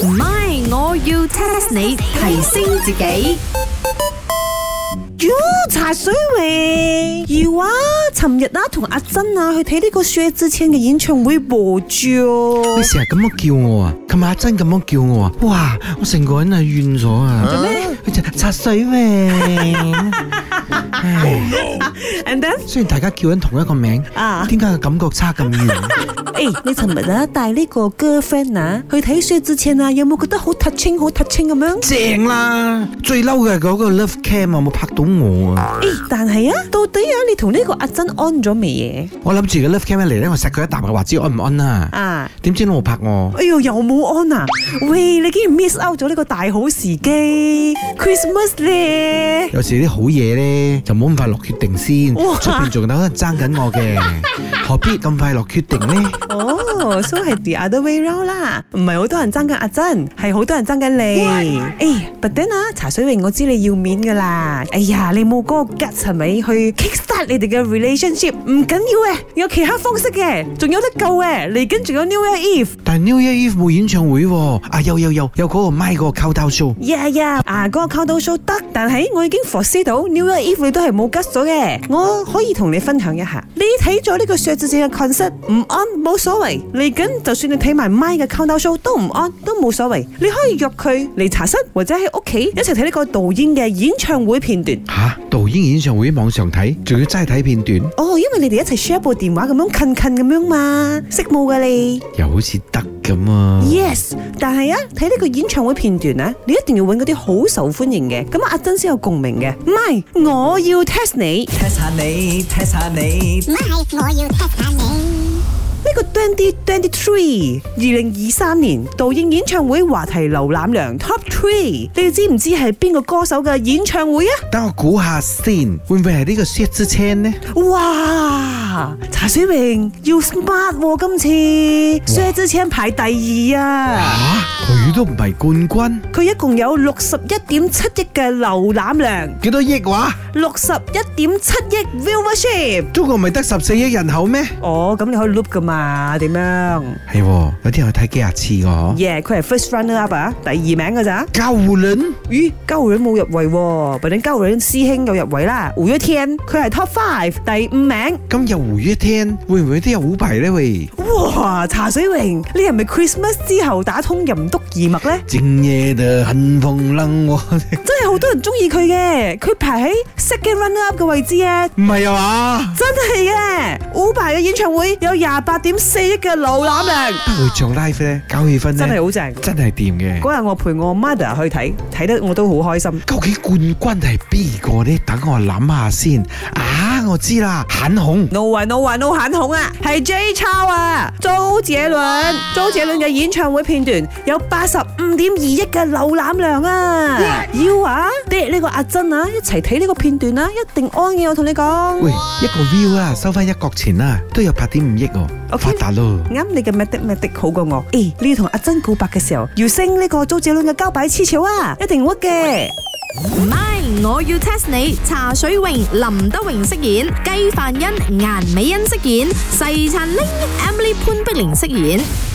唔係，我要 test 你提升自己。 茶水榮要啊！尋日同阿珍去睇呢個薛之謙嘅演唱會播咗。 你成日咁樣叫我啊，琴日阿珍咁樣叫我啊，哇！我成個人怨咗啊！ 做咩？ 佢就茶水榮。 And then 雖然大家叫緊同一個名，點解個感覺差咁遠？ 你尋日帶呢個 girlfriend 去睇薛之謙有冇覺得好 touching 咁樣？ 正啦！最嬲嘅嗰個 love cam 有冇拍到我啊？ 但係到底你同呢個阿珍安咗未嘢？ 我諗住個 love cam 一嚟咧，我錫佢一啖，話知安唔安啊？點知都冇拍我？ 哎呦，又冇安啊！喂，你竟然 miss out 咗呢個大好時機 ，Christmas 咧！ 有時啲好嘢咧，就冇咁快落決定先，出邊仲有人爭緊我嘅，何必咁快落決定呢？ so 係 the other way round 啦，唔係好多人爭緊阿珍，係好多人爭緊你。but then 茶水榮，我知你要面噶啦。哎呀，你冇嗰個 guts 係咪去 kickstart 你哋嘅 relationship？ 唔緊要嘅，有其他方式嘅，仲有得救嘅。嚟緊仲有 New Year Eve， 但係 New Year Eve 冇演唱會喎。有嗰個 My 嗰個 countdown show。 嗰個 countdown show 得，但係我已經 foresee 到 New Year Eve 你都係冇 guts 咗嘅。我可以同你分享一下，你睇咗呢個薛之謙嘅 concert 唔安冇所謂，嚟緊就算你睇埋 My 嘅 countdown show 都唔安都冇所謂，你可以約佢嚟茶室或者喺屋企一齊睇呢個導演嘅演唱會片段。 導演演唱會網上睇，仲要齋睇片段？ 因為你哋一齊 share 部電話咁樣近咁樣嘛，識冇噶你？ 又好似得咁啊 ！Yes， 但係睇呢個演唱會片段你一定要揾嗰啲好受歡迎嘅，咁阿珍先有共鳴嘅。唔係，我要 test 你 ，test 下你。 唔係，我要 test 下你。 呢個2023 2023年導演演唱會話題瀏覽量 Top 3，你知唔知係邊個歌手嘅演唱會啊？ 等我估下先，會唔會係呢個薛之謙呢？ 哇！茶水榮要 smart 今次薛之謙排第2啊！ 佢都唔係冠軍， 佢一共有61.7億嘅瀏覽量。 幾多億話 ？61.7億 viewership。 中國唔係得14億人口咩？ 咁你可以 loop 噶嘛？點樣？ 係，有啲人去睇幾廿次個。 佢係 first runner up 第2名噶咋？ 高虎人？ 咦，高虎人冇入圍喎，但係高虎人師兄有入圍啦。五月天佢係 top 5第5名。 咁有五月天，會唔會都有虎牌呢？喂！ 哇，茶水榮，你係咪 Christmas 之後打通任督二脈咧？ 正夜的很風冷喎， 真係好多人中意佢嘅，佢排喺 second runner up 嘅位置啊！ 唔係啊嘛？ 真係嘅，虎牌嘅演唱會有28.4億嘅瀏覽量。 會唱 live 咧，搞氣氛咧， 真係好正， 真係掂嘅。 嗰日我陪我 mother 去睇得我都好開心。 究竟冠軍係邊個呢？等我諗下先。我知啦，很紅。 No 很紅啊，係 J 超啊，周杰倫嘅演唱會片段有85.2億嘅瀏覽量啊！要爹呢個阿珍一齊睇呢個片段一定安嘅，我同你講。 喂，一個 view 收翻1角錢都有8.5億喎，發達咯。 啱，你嘅 medic 好過我。你要同阿珍告白嘅時候，要升呢個周杰倫嘅交擺黐潮一定 work 嘅。 唔係，我要 test 你。茶水榮、林德榮飾演，雞飯欣、顏美欣飾演，細燦玲、Emily 潘碧玲飾演。